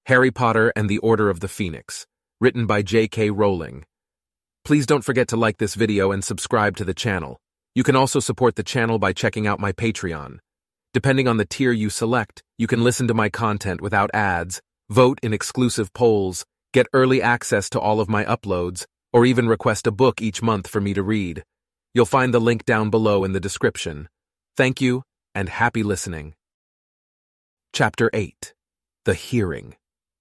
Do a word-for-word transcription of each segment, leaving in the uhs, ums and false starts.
Harry Potter and the Order of the Phoenix, written by J K Rowling. Please don't forget to like this video and subscribe to the channel. You can also support the channel by checking out my Patreon. Depending on the tier you select, you can listen to my content without ads, vote in exclusive polls, get early access to all of my uploads, or even request a book each month for me to read. You'll find the link down below in the description. Thank you, and happy listening. Chapter eight. The Hearing.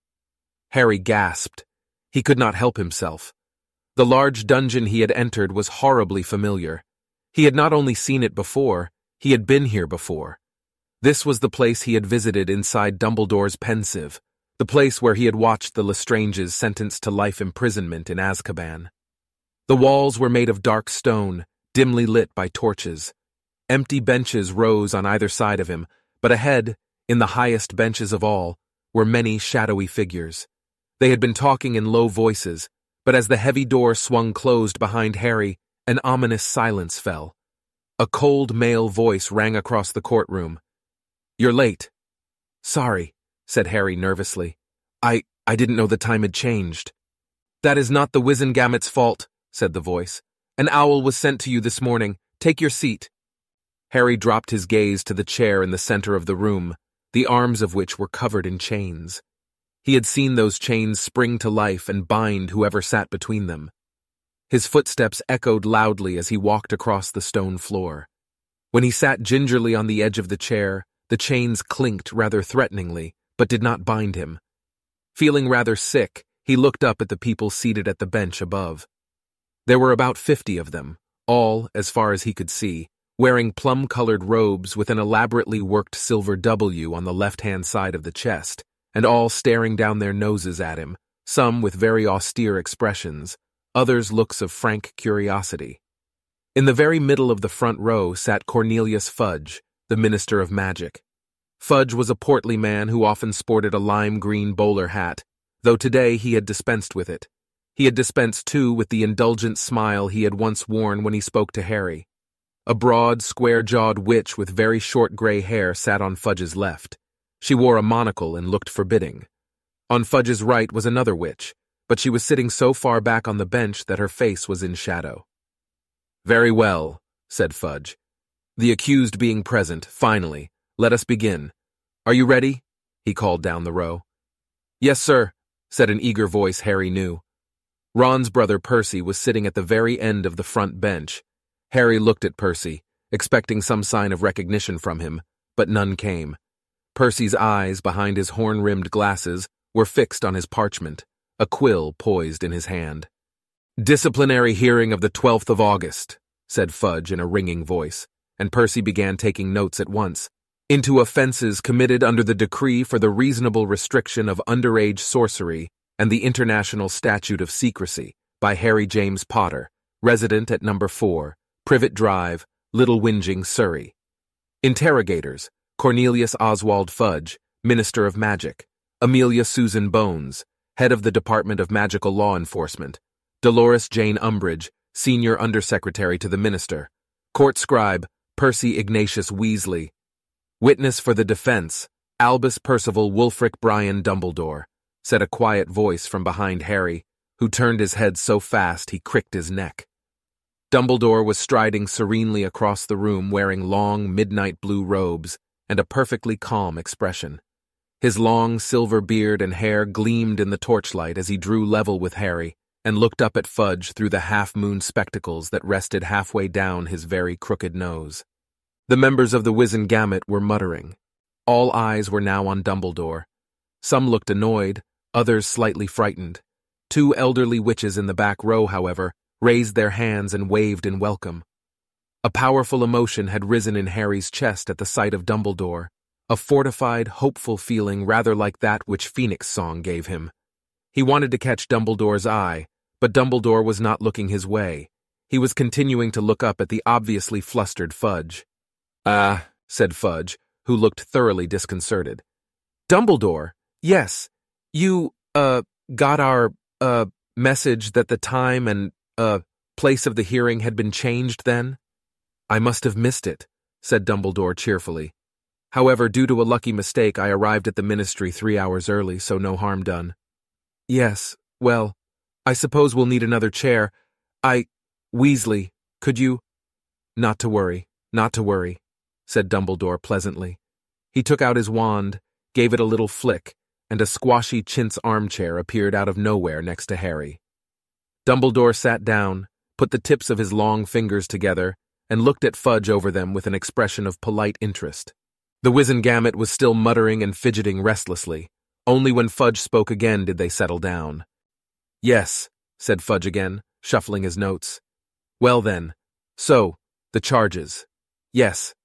Harry gasped. He could not help himself. The large dungeon he had entered was horribly familiar. He had not only seen it before, he had been here before. This was the place he had visited inside Dumbledore's Pensieve, the place where he had watched the Lestranges sentenced to life imprisonment in Azkaban. The walls were made of dark stone, dimly lit by torches. Empty benches rose on either side of him, but ahead, in the highest benches of all, were many shadowy figures. They had been talking in low voices, but as the heavy door swung closed behind Harry, an ominous silence fell. A cold male voice rang across the courtroom. "You're late." "Sorry," said Harry nervously. I, I didn't know the time had changed." "That is not the Wizengamet's fault," said the voice. "An owl was sent to you this morning. Take your seat." Harry dropped his gaze to the chair in the center of the room, the arms of which were covered in chains. He had seen those chains spring to life and bind whoever sat between them. His footsteps echoed loudly as he walked across the stone floor. When he sat gingerly on the edge of the chair, the chains clinked rather threateningly, but did not bind him. Feeling rather sick, he looked up at the people seated at the bench above. There were about fifty of them, all, as far as he could see, wearing plum-colored robes with an elaborately worked silver W on the left-hand side of the chest, and all staring down their noses at him, some with very austere expressions, others looks of frank curiosity. In the very middle of the front row sat Cornelius Fudge, the Minister of Magic. Fudge was a portly man who often sported a lime-green bowler hat, though today he had dispensed with it. He had dispensed, too, with the indulgent smile he had once worn when he spoke to Harry. A broad, square-jawed witch with very short gray hair sat on Fudge's left. She wore a monocle and looked forbidding. On Fudge's right was another witch, but she was sitting so far back on the bench that her face was in shadow. "Very well," said Fudge. "The accused being present, finally, let us begin. Are you ready?" he called down the row. "Yes, sir," said an eager voice Harry knew. Ron's brother Percy was sitting at the very end of the front bench. Harry looked at Percy, expecting some sign of recognition from him, but none came. Percy's eyes, behind his horn-rimmed glasses, were fixed on his parchment, a quill poised in his hand. "Disciplinary hearing of the twelfth of August," said Fudge in a ringing voice, and Percy began taking notes at once. "Into offenses committed under the decree for the reasonable restriction of underage sorcery and the International Statute of Secrecy by Harry James Potter, resident at number four, Privet Drive, Little Whinging, Surrey. Interrogators: Cornelius Oswald Fudge, Minister of Magic; Amelia Susan Bones, Head of the Department of Magical Law Enforcement; Dolores Jane Umbridge, Senior Undersecretary to the Minister; Court Scribe, Percy Ignatius Weasley. Witness for the defense, Albus Percival Wulfric Brian Dumbledore," said a quiet voice from behind Harry, who turned his head so fast he cricked his neck. Dumbledore was striding serenely across the room wearing long midnight blue robes and a perfectly calm expression. His long silver beard and hair gleamed in the torchlight as he drew level with Harry and looked up at Fudge through the half-moon spectacles that rested halfway down his very crooked nose. The members of the Wizengamot were muttering. All eyes were now on Dumbledore. Some looked annoyed, others slightly frightened. Two elderly witches in the back row, however, raised their hands and waved in welcome. A powerful emotion had risen in Harry's chest at the sight of Dumbledore, a fortified, hopeful feeling rather like that which Phoenix Song gave him. He wanted to catch Dumbledore's eye, but Dumbledore was not looking his way. He was continuing to look up at the obviously flustered Fudge. "Ah," said Fudge, who looked thoroughly disconcerted. "Dumbledore, yes, you, uh, got our, uh, message that the time and, uh, place of the hearing had been changed then?" "I must have missed it," said Dumbledore cheerfully. However, due to a lucky mistake, I arrived at the ministry three hours early, so no harm done. Yes, well, I suppose we'll need another chair. I... Weasley, could you... Not to worry, not to worry, said Dumbledore pleasantly. He took out his wand, gave it a little flick, and a squashy chintz armchair appeared out of nowhere next to Harry. Dumbledore sat down, put the tips of his long fingers together, and looked at Fudge over them with an expression of polite interest. The Wizengamot was still muttering and fidgeting restlessly. Only when Fudge spoke again did they settle down. Yes, said Fudge again, shuffling his notes. Well then, so, the charges. Yes.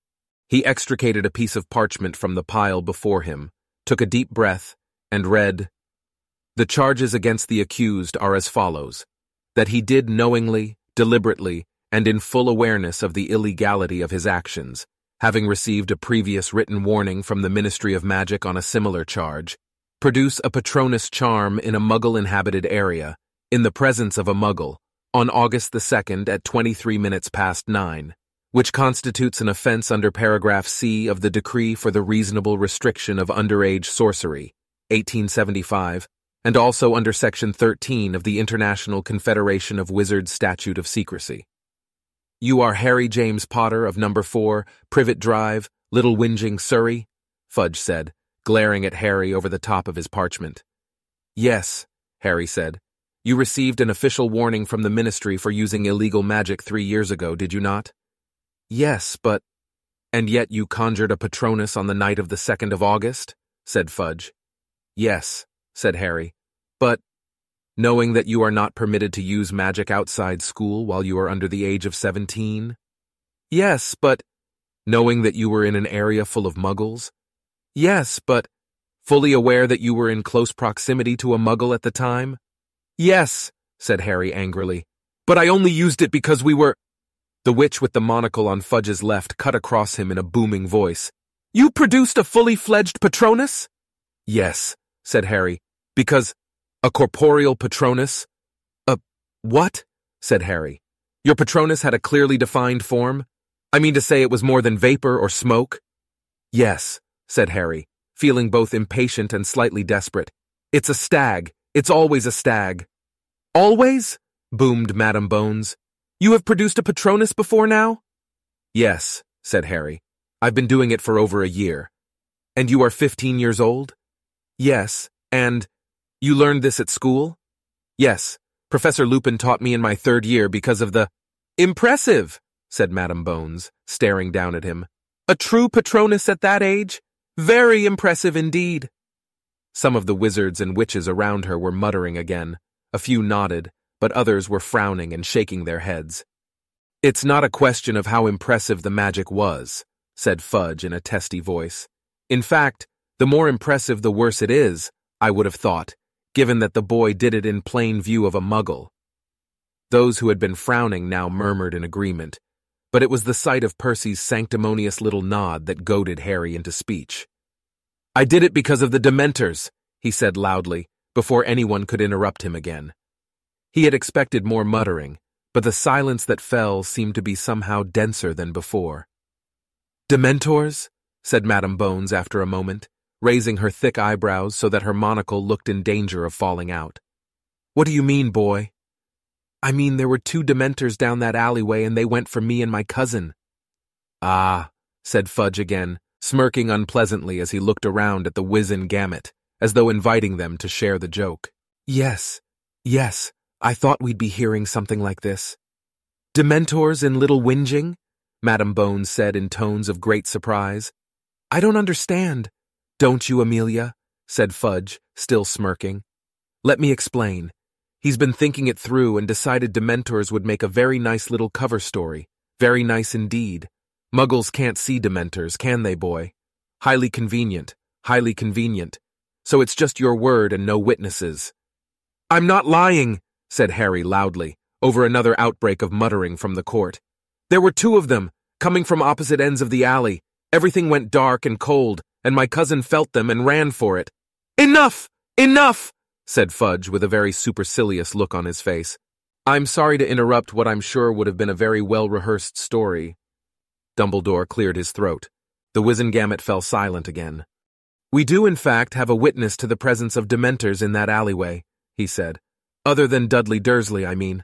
He extricated a piece of parchment from the pile before him, took a deep breath, and read, The charges against the accused are as follows: that he did knowingly, deliberately, and in full awareness of the illegality of his actions, having received a previous written warning from the Ministry of Magic on a similar charge, produce a Patronus charm in a Muggle-inhabited area, in the presence of a Muggle, on August the second at twenty-three minutes past nine, which constitutes an offense under paragraph C of the Decree for the Reasonable Restriction of Underage Sorcery, eighteen seventy-five, and also under section thirteen of the International Confederation of Wizards Statute of Secrecy. You are Harry James Potter of number four, Privet Drive, Little Whinging, Surrey? Fudge said, glaring at Harry over the top of his parchment. Yes, Harry said. You received an official warning from the Ministry for using illegal magic three years ago, did you not? Yes, but... And yet you conjured a Patronus on the night of the second of August? Said Fudge. Yes, said Harry, but... Knowing that you are not permitted to use magic outside school while you are under the age of seventeen? Yes, but... Knowing that you were in an area full of Muggles? Yes, but... Fully aware that you were in close proximity to a Muggle at the time? Yes, said Harry angrily, but I only used it because we were... The witch with the monocle on Fudge's left cut across him in a booming voice. You produced a fully fledged Patronus? Yes, said Harry, because... A corporeal Patronus? A... what? Said Harry. Your Patronus had a clearly defined form? I mean to say it was more than vapor or smoke? Yes, said Harry, feeling both impatient and slightly desperate. It's a stag. It's always a stag. Always? Boomed Madam Bones. You have produced a Patronus before now? Yes, said Harry. I've been doing it for over a year. And you are fifteen years old? Yes, and... You learned this at school? Yes, Professor Lupin taught me in my third year because of the... Impressive, said Madam Bones, staring down at him. A true Patronus at that age? Very impressive indeed. Some of the wizards and witches around her were muttering again. A few nodded, but others were frowning and shaking their heads. It's not a question of how impressive the magic was, said Fudge in a testy voice. In fact, the more impressive the worse it is, I would have thought, given that the boy did it in plain view of a Muggle. Those who had been frowning now murmured in agreement, but it was the sight of Percy's sanctimonious little nod that goaded Harry into speech. I did it because of the Dementors, he said loudly, before anyone could interrupt him again. He had expected more muttering, but the silence that fell seemed to be somehow denser than before. Dementors? Said Madam Bones after a moment, raising her thick eyebrows so that her monocle looked in danger of falling out. What do you mean, boy? I mean there were two Dementors down that alleyway and they went for me and my cousin. Ah, said Fudge again, smirking unpleasantly as he looked around at the Wizengamot, as though inviting them to share the joke. Yes, yes, I thought we'd be hearing something like this. Dementors in Little Whinging? Madam Bones said in tones of great surprise. I don't understand. Don't you, Amelia? Said Fudge, still smirking. Let me explain. He's been thinking it through and decided Dementors would make a very nice little cover story. Very nice indeed. Muggles can't see Dementors, can they, boy? Highly convenient, highly convenient. So it's just your word and no witnesses. I'm not lying, said Harry loudly, over another outbreak of muttering from the court. There were two of them, coming from opposite ends of the alley. Everything went dark and cold, and my cousin felt them and ran for it. Enough! Enough! Said Fudge with a very supercilious look on his face. I'm sorry to interrupt what I'm sure would have been a very well-rehearsed story. Dumbledore cleared his throat. The Wizengamot fell silent again. "We do in fact have a witness to the presence of Dementors in that alleyway," he said. "Other than Dudley Dursley, I mean."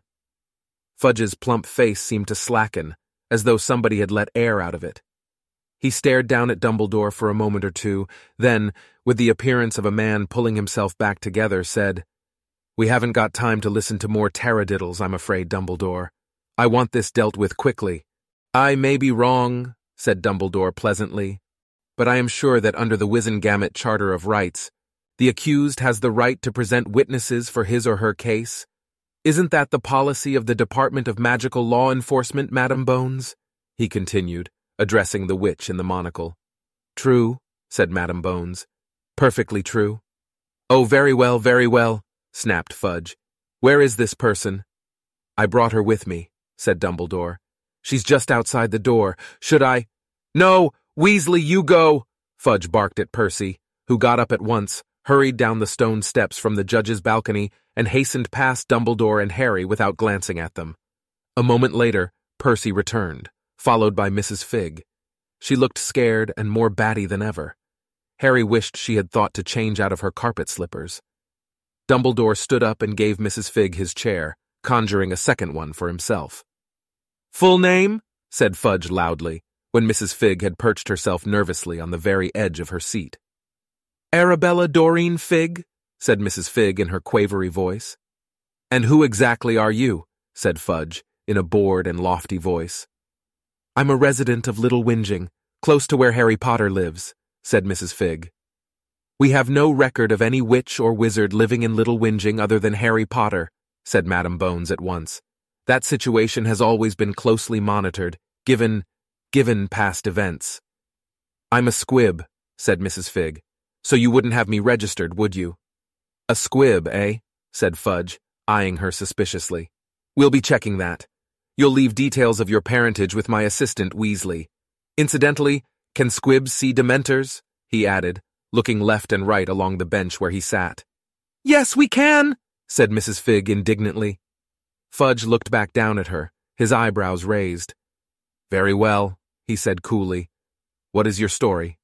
Fudge's plump face seemed to slacken, as though somebody had let air out of it. He stared down at Dumbledore for a moment or two, then, with the appearance of a man pulling himself back together, said, "We haven't got time to listen to more taradiddles, I'm afraid, Dumbledore. I want this dealt with quickly." "I may be wrong," said Dumbledore pleasantly, "but I am sure that under the Wizengamot Charter of Rights, the accused has the right to present witnesses for his or her case. Isn't that the policy of the Department of Magical Law Enforcement, Madam Bones?" he continued, addressing the witch in the monocle. "True," said Madam Bones. "Perfectly true." "Oh, very well, very well," snapped Fudge. "Where is this person?" "I brought her with me," said Dumbledore. "She's just outside the door. Should I—" "No, Weasley, you go!" Fudge barked at Percy, who got up at once, hurried down the stone steps from the judge's balcony, and hastened past Dumbledore and Harry without glancing at them. A moment later, Percy returned, followed by Missus Figg. She looked scared and more batty than ever. Harry wished she had thought to change out of her carpet slippers. Dumbledore stood up and gave Missus Figg his chair, conjuring a second one for himself. "Full name?" said Fudge loudly, when Missus Figg had perched herself nervously on the very edge of her seat. "Arabella Doreen Figg," said Missus Figg in her quavery voice. "And who exactly are you?" said Fudge, in a bored and lofty voice. "I'm a resident of Little Whinging, close to where Harry Potter lives," said Missus Figg. "We have no record of any witch or wizard living in Little Whinging other than Harry Potter," said Madam Bones at once. "That situation has always been closely monitored, given, given past events." "I'm a squib," said Missus Figg. "So you wouldn't have me registered, would you?" "A squib, eh?" said Fudge, eyeing her suspiciously. "We'll be checking that. You'll leave details of your parentage with my assistant, Weasley. Incidentally, can squibs see Dementors?" he added, looking left and right along the bench where he sat. "Yes, we can," said Missus Figg indignantly. Fudge looked back down at her, his eyebrows raised. "Very well," he said coolly. "What is your story?"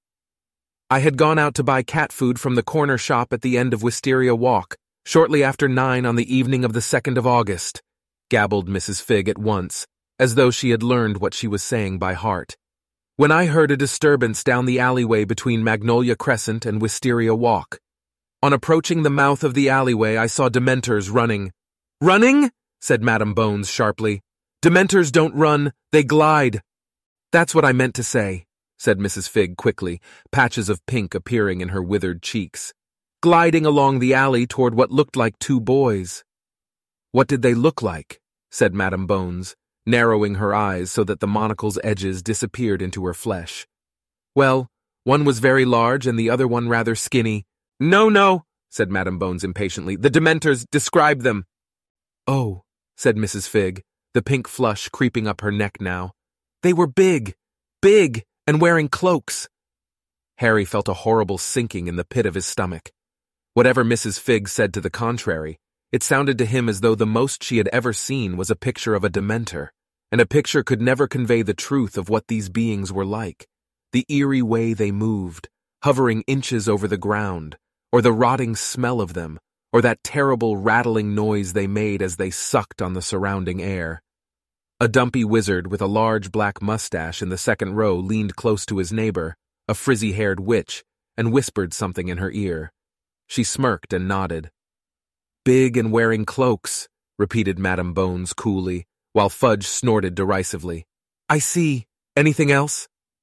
"I had gone out to buy cat food from the corner shop at the end of Wisteria Walk, shortly after nine on the evening of the second of August, gabbled Missus Figg at once, as though she had learned what she was saying by heart, "when I heard a disturbance down the alleyway between Magnolia Crescent and Wisteria Walk. On approaching the mouth of the alleyway, I saw Dementors running." "Running?" said Madam Bones sharply. "Dementors don't run, they glide." "That's what I meant to say," said Missus Figg quickly, patches of pink appearing in her withered cheeks. "Gliding along the alley toward what looked like two boys." "What did they look like?" said Madam Bones, narrowing her eyes so that the monocle's edges disappeared into her flesh. "Well, one was very large and the other one rather skinny." "No, no," said Madam Bones impatiently. "The Dementors, describe them." "Oh," said Missus Figg, the pink flush creeping up her neck now. "They were big, big, and wearing cloaks." Harry felt a horrible sinking in the pit of his stomach. Whatever Missus Figg said to the contrary, it sounded to him as though the most she had ever seen was a picture of a Dementor, and a picture could never convey the truth of what these beings were like, the eerie way they moved, hovering inches over the ground, or the rotting smell of them, or that terrible rattling noise they made as they sucked on the surrounding air. A dumpy wizard with a large black mustache in the second row leaned close to his neighbor, a frizzy-haired witch, and whispered something in her ear. She smirked and nodded. "Big and wearing cloaks," repeated Madam Bones coolly, while Fudge snorted derisively. "I see. Anything else?"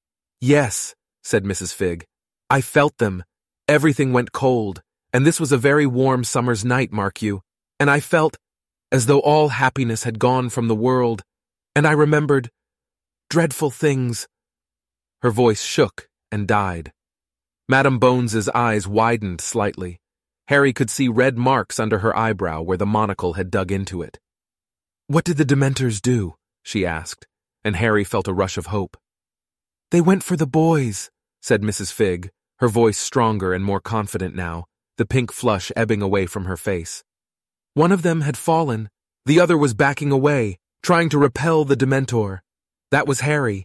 "Yes," said Missus Figg. "I felt them. Everything went cold, and this was a very warm summer's night, mark you, and I felt as though all happiness had gone from the world, and I remembered dreadful things." Her voice shook and died. Madam Bones's eyes widened slightly. Harry could see red marks under her eyebrow where the monocle had dug into it. "What did the Dementors do?" she asked, and Harry felt a rush of hope. "They went for the boys," said Missus Figg, her voice stronger and more confident now, the pink flush ebbing away from her face. "One of them had fallen. The other was backing away, trying to repel the Dementor. That was Harry.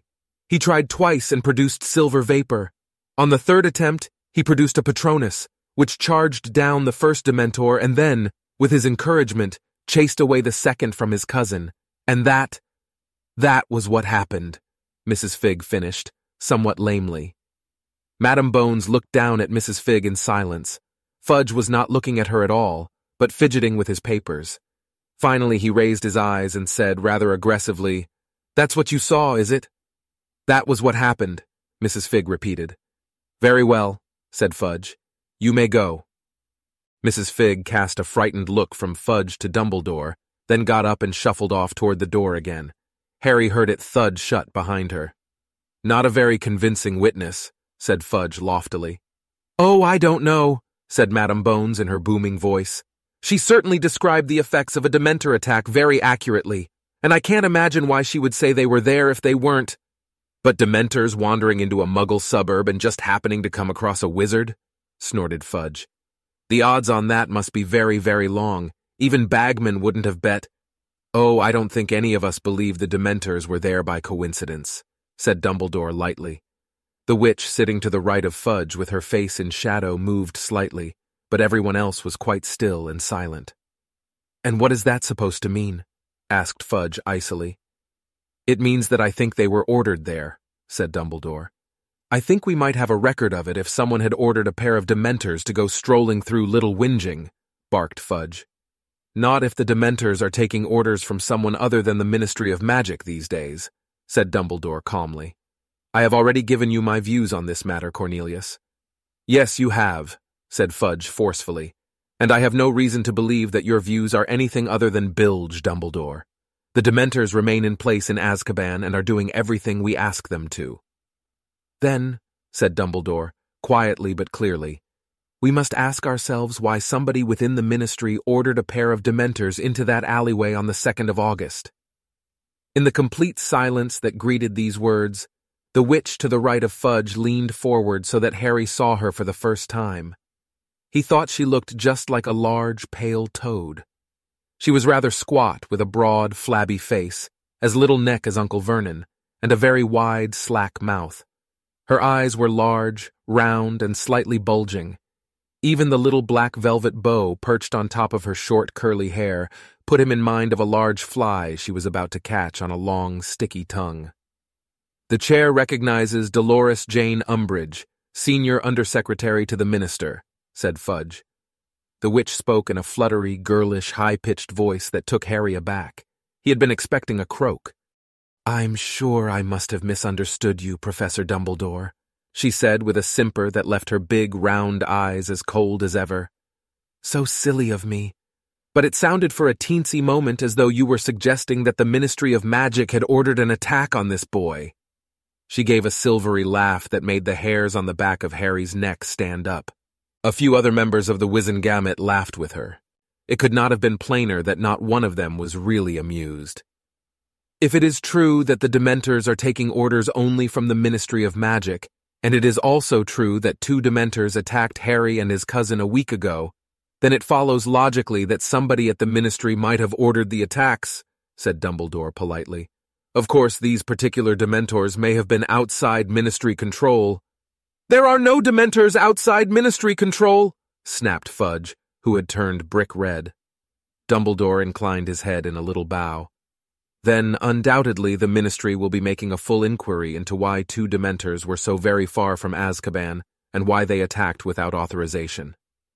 He tried twice and produced silver vapor. On the third attempt, he produced a Patronus, which charged down the first Dementor and then, with his encouragement, chased away the second from his cousin. And that, that was what happened, Missus Fig finished, somewhat lamely. Madam Bones looked down at Missus Fig in silence. Fudge was not looking at her at all, but fidgeting with his papers. Finally, he raised his eyes and said rather aggressively, "That's what you saw, is it?" "That was what happened," Missus Fig repeated. "Very well," said Fudge. "You may go." Missus Fig cast a frightened look from Fudge to Dumbledore, then got up and shuffled off toward the door again. Harry heard it thud shut behind her. "Not a very convincing witness," said Fudge loftily. "Oh, I don't know," said Madam Bones in her booming voice. "She certainly described the effects of a Dementor attack very accurately, and I can't imagine why she would say they were there if they weren't. But Dementors wandering into a Muggle suburb and just happening to come across a wizard?" snorted Fudge. "The odds on that must be very, very long. Even Bagman wouldn't have bet." "Oh, I don't think any of us believe the Dementors were there by coincidence," said Dumbledore lightly. The witch sitting to the right of Fudge with her face in shadow moved slightly, but everyone else was quite still and silent. "And what is that supposed to mean?" asked Fudge icily. "It means that I think they were ordered there," said Dumbledore. "I think we might have a record of it if someone had ordered a pair of Dementors to go strolling through Little Whinging," barked Fudge. "Not if the Dementors are taking orders from someone other than the Ministry of Magic these days," said Dumbledore calmly. "I have already given you my views on this matter, Cornelius." "Yes, you have," said Fudge forcefully, "and I have no reason to believe that your views are anything other than bilge, Dumbledore. The Dementors remain in place in Azkaban and are doing everything we ask them to." "Then," said Dumbledore, quietly but clearly, "we must ask ourselves why somebody within the Ministry ordered a pair of Dementors into that alleyway on the second of August. In the complete silence that greeted these words, the witch to the right of Fudge leaned forward so that Harry saw her for the first time. He thought she looked just like a large, pale toad. She was rather squat, with a broad, flabby face, as little neck as Uncle Vernon, and a very wide, slack mouth. Her eyes were large, round, and slightly bulging. Even the little black velvet bow perched on top of her short, curly hair put him in mind of a large fly she was about to catch on a long, sticky tongue. "The chair recognizes Dolores Jane Umbridge, Senior Undersecretary to the Minister," said Fudge. The witch spoke in a fluttery, girlish, high-pitched voice that took Harry aback. He had been expecting a croak. "I'm sure I must have misunderstood you, Professor Dumbledore," she said with a simper that left her big, round eyes as cold as ever. "So silly of me. But it sounded for a teensy moment as though you were suggesting that the Ministry of Magic had ordered an attack on this boy." She gave a silvery laugh that made the hairs on the back of Harry's neck stand up. A few other members of the Wizengamot laughed with her. It could not have been plainer that not one of them was really amused. "If it is true that the Dementors are taking orders only from the Ministry of Magic, and it is also true that two Dementors attacked Harry and his cousin a week ago, then it follows logically that somebody at the Ministry might have ordered the attacks," said Dumbledore politely. "Of course, these particular Dementors may have been outside Ministry control." "There are no Dementors outside Ministry control," snapped Fudge, who had turned brick red. Dumbledore inclined his head in a little bow. "Then, undoubtedly, the Ministry will be making a full inquiry into why two Dementors were so very far from Azkaban and why they attacked without authorization."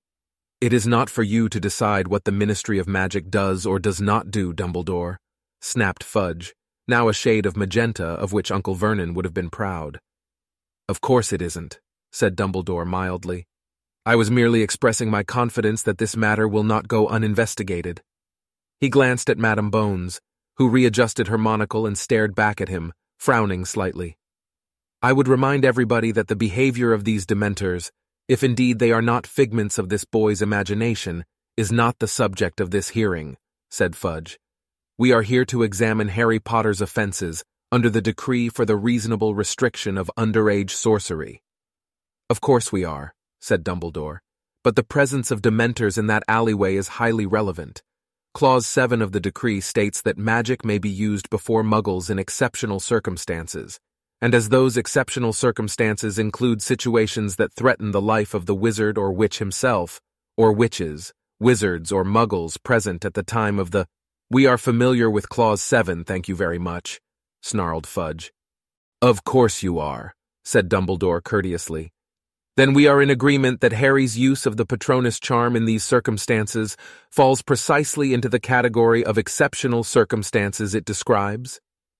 "It is not for you to decide what the Ministry of Magic does or does not do, Dumbledore," snapped Fudge, now a shade of magenta of which Uncle Vernon would have been proud. "Of course it isn't," said Dumbledore mildly. "I was merely expressing my confidence that this matter will not go uninvestigated." He glanced at Madam Bones, who readjusted her monocle and stared back at him, frowning slightly. "I would remind everybody that the behavior of these Dementors, if indeed they are not figments of this boy's imagination, is not the subject of this hearing," said Fudge. "We are here to examine Harry Potter's offenses under the decree for the reasonable restriction of underage sorcery." "Of course we are," said Dumbledore, "but the presence of Dementors in that alleyway is highly relevant. Clause seven of the decree states that magic may be used before Muggles in exceptional circumstances, and as those exceptional circumstances include situations that threaten the life of the wizard or witch himself, or witches, wizards, or muggles present at the time of the— "We are familiar with Clause seven, thank you very much," snarled Fudge. "Of course you are," said Dumbledore courteously. "Then we are in agreement that Harry's use of the Patronus charm in these circumstances falls precisely into the category of exceptional circumstances it describes?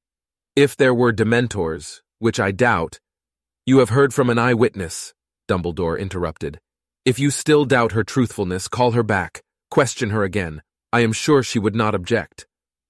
If there were Dementors, which I doubt— "You have heard from an eyewitness," Dumbledore interrupted. "If you still doubt her truthfulness, call her back. Question her again. I am sure she would not object."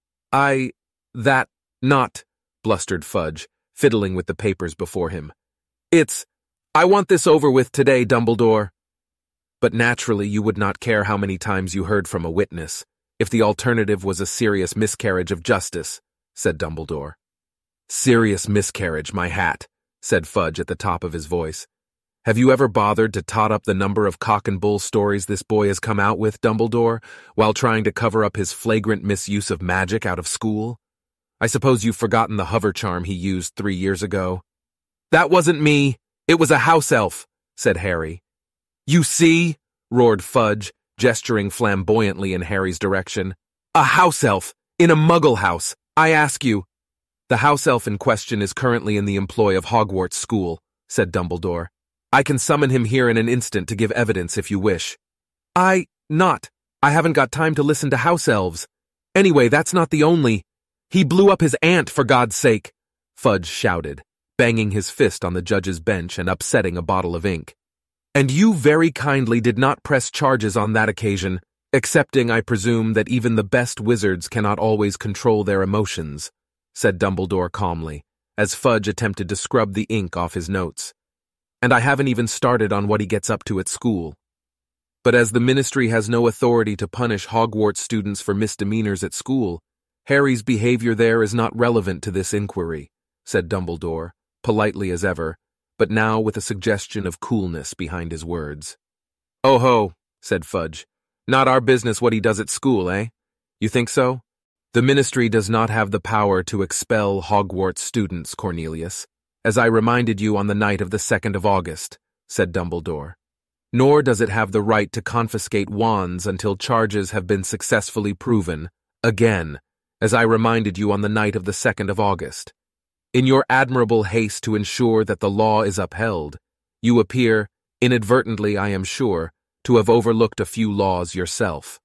I— that— not— blustered Fudge, fiddling with the papers before him. "It's— I want this over with today, Dumbledore." "But naturally you would not care how many times you heard from a witness, if the alternative was a serious miscarriage of justice," said Dumbledore. "Serious miscarriage, my hat," said Fudge at the top of his voice. "Have you ever bothered to tot up the number of cock and bull stories this boy has come out with, Dumbledore, while trying to cover up his flagrant misuse of magic out of school? I suppose you've forgotten the hover charm he used three years ago." "That wasn't me. It was a house elf," said Harry. "You see?" roared Fudge, gesturing flamboyantly in Harry's direction. "A house elf, in a muggle house, I ask you." "The house elf in question is currently in the employ of Hogwarts School," said Dumbledore. "I can summon him here in an instant to give evidence if you wish." I— not. I haven't got time to listen to house elves. Anyway, that's not the only— He blew up his aunt, for God's sake!" Fudge shouted, banging his fist on the judge's bench and upsetting a bottle of ink. "And you very kindly did not press charges on that occasion, accepting, I presume, that even the best wizards cannot always control their emotions," said Dumbledore calmly, as Fudge attempted to scrub the ink off his notes. "And I haven't even started on what he gets up to at school. But as the Ministry has no authority to punish Hogwarts students for misdemeanors at school, Harry's behavior there is not relevant to this inquiry," said Dumbledore, politely as ever, but now with a suggestion of coolness behind his words. "Oh ho," said Fudge. "Not our business what he does at school, eh? You think so? The Ministry does not have the power to expel Hogwarts students, Cornelius, as I reminded you on the night of the second of August, said Dumbledore. Nor does it have the right to confiscate wands until charges have been successfully proven, again, as I reminded you on the night of the second of August. In your admirable haste to ensure that the law is upheld, you appear, inadvertently I am sure, to have overlooked a few laws yourself.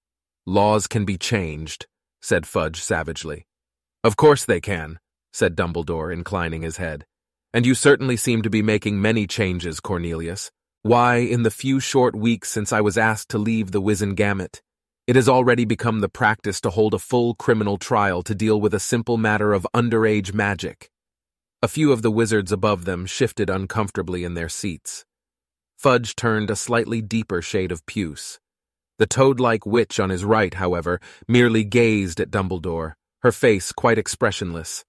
Laws can be changed, said Fudge savagely. Of course they can, said Dumbledore, inclining his head. And you certainly seem to be making many changes, Cornelius. Why, in the few short weeks since I was asked to leave the Wizengamot, it has already become the practice to hold a full criminal trial to deal with a simple matter of underage magic. A few of the wizards above them shifted uncomfortably in their seats. Fudge turned a slightly deeper shade of puce. The toad-like witch on his right, however, merely gazed at Dumbledore, her face quite expressionless.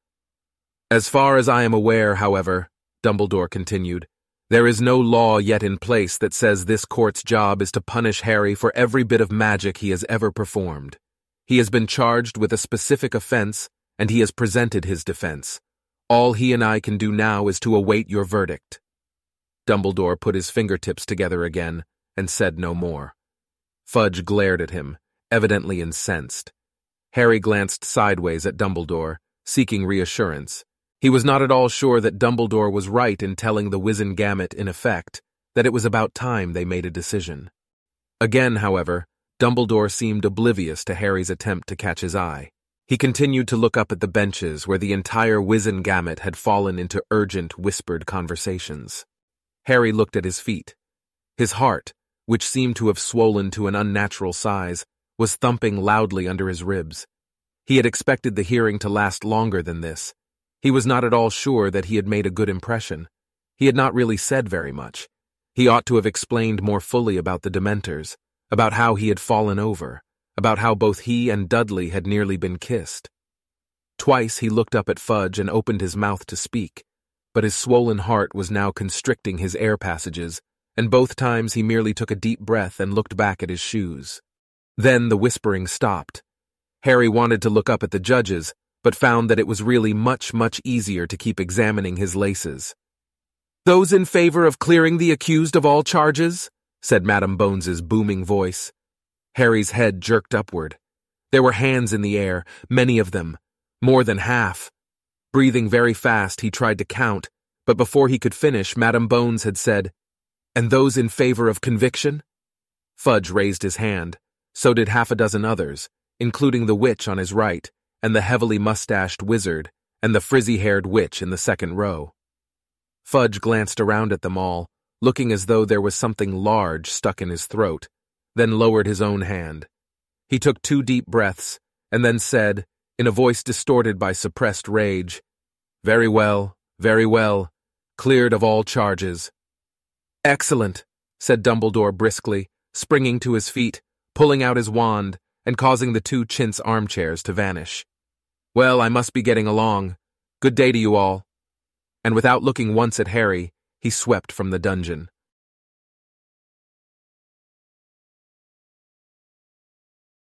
As far as I am aware, however, Dumbledore continued, there is no law yet in place that says this court's job is to punish Harry for every bit of magic he has ever performed. He has been charged with a specific offense, and he has presented his defense. All he and I can do now is to await your verdict. Dumbledore put his fingertips together again and said no more. Fudge glared at him, evidently incensed. Harry glanced sideways at Dumbledore, seeking reassurance. He was not at all sure that Dumbledore was right in telling the Wizengamot, in effect, that it was about time they made a decision. Again, however, Dumbledore seemed oblivious to Harry's attempt to catch his eye. He continued to look up at the benches where the entire Wizengamot had fallen into urgent, whispered conversations. Harry looked at his feet. His heart, which seemed to have swollen to an unnatural size, was thumping loudly under his ribs. He had expected the hearing to last longer than this. He was not at all sure that he had made a good impression. He had not really said very much. He ought to have explained more fully about the Dementors, about how he had fallen over, about how both he and Dudley had nearly been kissed. Twice he looked up at Fudge and opened his mouth to speak, but his swollen heart was now constricting his air passages, and both times he merely took a deep breath and looked back at his shoes. Then the whispering stopped. Harry wanted to look up at the judges, but found that it was really much, much easier to keep examining his laces. "Those in favor of clearing the accused of all charges?" said Madam Bones's booming voice. Harry's head jerked upward. There were hands in the air, many of them, more than half. Breathing very fast, he tried to count, but before he could finish, Madam Bones had said, "And those in favor of conviction?" Fudge raised his hand. So did half a dozen others, including the witch on his right, and the heavily mustached wizard, and the frizzy-haired witch in the second row. Fudge glanced around at them all, looking as though there was something large stuck in his throat, then lowered his own hand. He took two deep breaths, and then said, in a voice distorted by suppressed rage, "Very well, very well, cleared of all charges." "Excellent," said Dumbledore briskly, springing to his feet, pulling out his wand, and causing the two chintz armchairs to vanish. "Well, I must be getting along. Good day to you all." And without looking once at Harry, he swept from the dungeon.